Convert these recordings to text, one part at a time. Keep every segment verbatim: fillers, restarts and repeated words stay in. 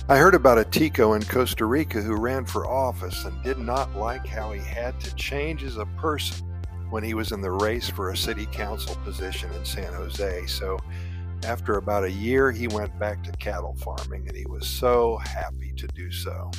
I heard about a Tico in Costa Rica who ran for office and did not like how he had to change as a person when he was in the race for a city council position in San Jose. So after about a year, he went back to cattle farming, and he was so happy to do so.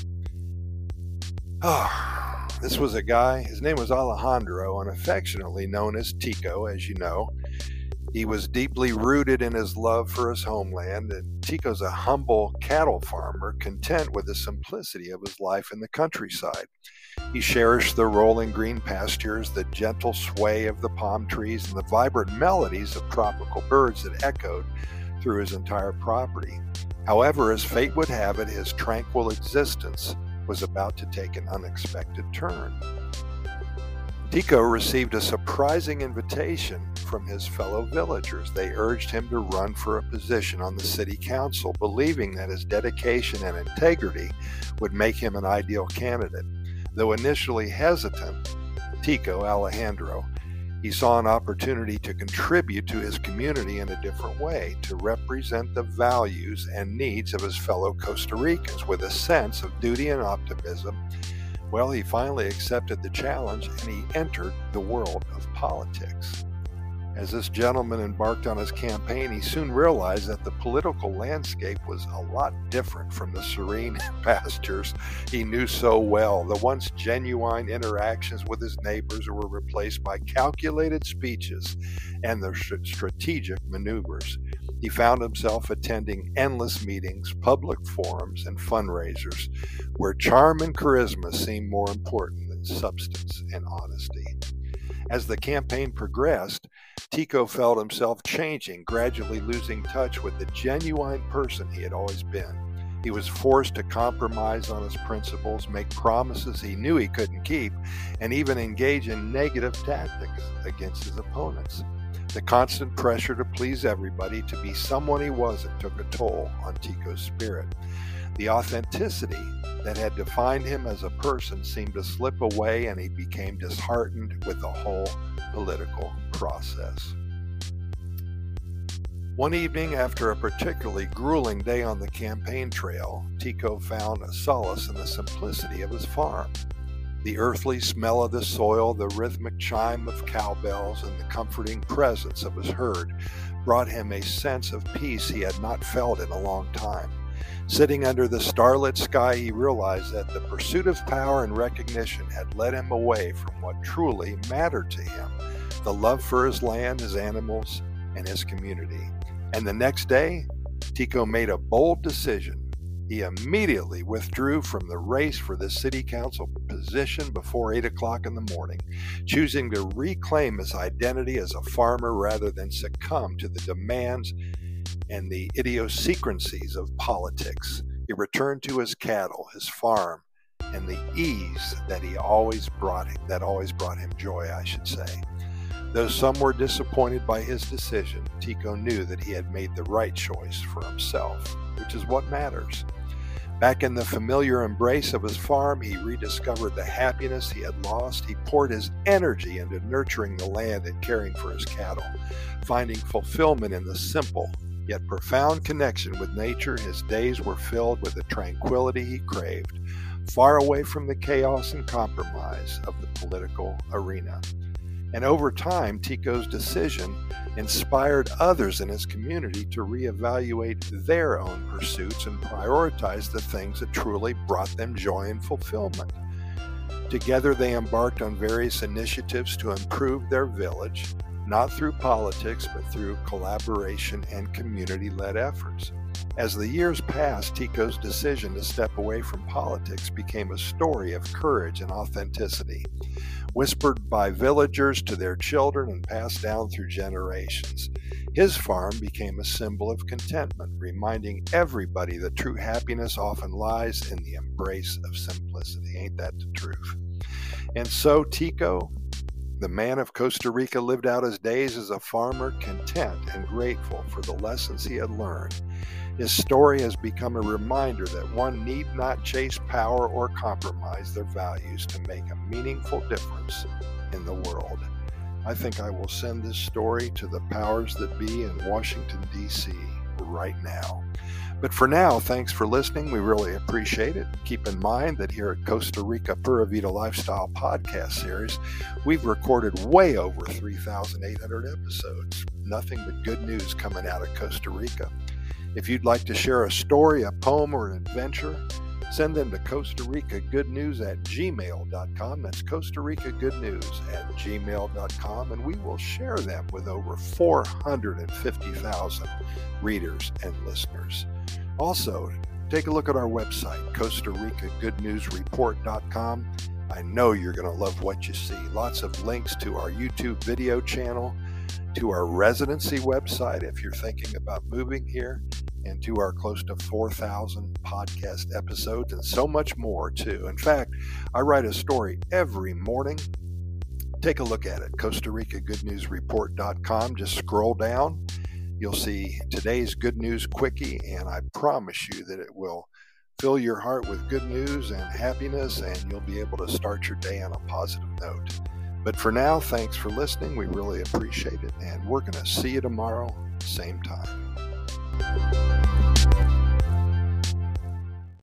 Oh, this was a guy, his name was Alejandro, and affectionately known as Tico, as you know. He was deeply rooted in his love for his homeland, and Tico's a humble cattle farmer, content with the simplicity of his life in the countryside. He cherished the rolling green pastures, the gentle sway of the palm trees, and the vibrant melodies of tropical birds that echoed through his entire property. However, as fate would have it, his tranquil existence was about to take an unexpected turn. Tico received a surprising invitation from his fellow villagers. They urged him to run for a position on the city council, believing that his dedication and integrity would make him an ideal candidate. Though initially hesitant, Tico, Alejandro, he saw an opportunity to contribute to his community in a different way, to represent the values and needs of his fellow Costa Ricans with a sense of duty and optimism. Well, he finally accepted the challenge and he entered the world of politics. As this gentleman embarked on his campaign, he soon realized that the political landscape was a lot different from the serene pastures he knew so well. The once genuine interactions with his neighbors were replaced by calculated speeches and their strategic maneuvers. He found himself attending endless meetings, public forums, and fundraisers, where charm and charisma seemed more important than substance and honesty. As the campaign progressed, Tico felt himself changing, gradually losing touch with the genuine person he had always been. He was forced to compromise on his principles, make promises he knew he couldn't keep, and even engage in negative tactics against his opponents. The constant pressure to please everybody, to be someone he wasn't, took a toll on Tico's spirit. The authenticity that had defined him as a person seemed to slip away, and he became disheartened with the whole political process. One evening, after a particularly grueling day on the campaign trail, Tico found a solace in the simplicity of his farm. The earthly smell of the soil, the rhythmic chime of cowbells, and the comforting presence of his herd brought him a sense of peace he had not felt in a long time. Sitting under the starlit sky, he realized that the pursuit of power and recognition had led him away from what truly mattered to him, the love for his land, his animals, and his community. And the next day, Tico made a bold decision. He immediately withdrew from the race for the city council position before eight o'clock in the morning, choosing to reclaim his identity as a farmer rather than succumb to the demands and the idiosyncrasies of politics. He returned to his cattle, his farm, and the ease that he always brought him, that always brought him joy, I should say. Though some were disappointed by his decision, Tico knew that he had made the right choice for himself, which is what matters. Back in the familiar embrace of his farm, he rediscovered the happiness he had lost. He poured his energy into nurturing the land and caring for his cattle, finding fulfillment in the simple yet profound connection with nature. His days were filled with the tranquility he craved, far away from the chaos and compromise of the political arena. And over time, Tico's decision inspired others in his community to reevaluate their own pursuits and prioritize the things that truly brought them joy and fulfillment. Together, they embarked on various initiatives to improve their village, not through politics, but through collaboration and community-led efforts. As the years passed, Tico's decision to step away from politics became a story of courage and authenticity, whispered by villagers to their children and passed down through generations. His farm became a symbol of contentment, reminding everybody that true happiness often lies in the embrace of simplicity. Ain't that the truth? And so Tico, the man of Costa Rica, lived out his days as a farmer, content and grateful for the lessons he had learned. His story has become a reminder that one need not chase power or compromise their values to make a meaningful difference in the world. I think I will send this story to the powers that be in Washington, D C right now. But for now, thanks for listening. We really appreciate it. Keep in mind that here at Costa Rica Pura Vida Lifestyle Podcast Series, we've recorded way over three thousand eight hundred episodes. Nothing but good news coming out of Costa Rica. If you'd like to share a story, a poem, or an adventure, send them to Costa Rica Good News at gmail dot com. That's Costa Rica Good News at gmail dot com, and we will share them with over four hundred fifty thousand readers and listeners. Also, take a look at our website, Costa Rica Good News Report dot com. I know you're going to love what you see. Lots of links to our YouTube video channel, to our residency website if you're thinking about moving here, and to our close to four thousand podcast episodes, and so much more too. In fact, I write a story every morning. Take a look at it, Costa Rica Good News Report dot com. Just scroll down. You'll see today's Good News Quickie, and I promise you that it will fill your heart with good news and happiness, and you'll be able to start your day on a positive note. But for now, thanks for listening. We really appreciate it, and we're going to see you tomorrow, same time.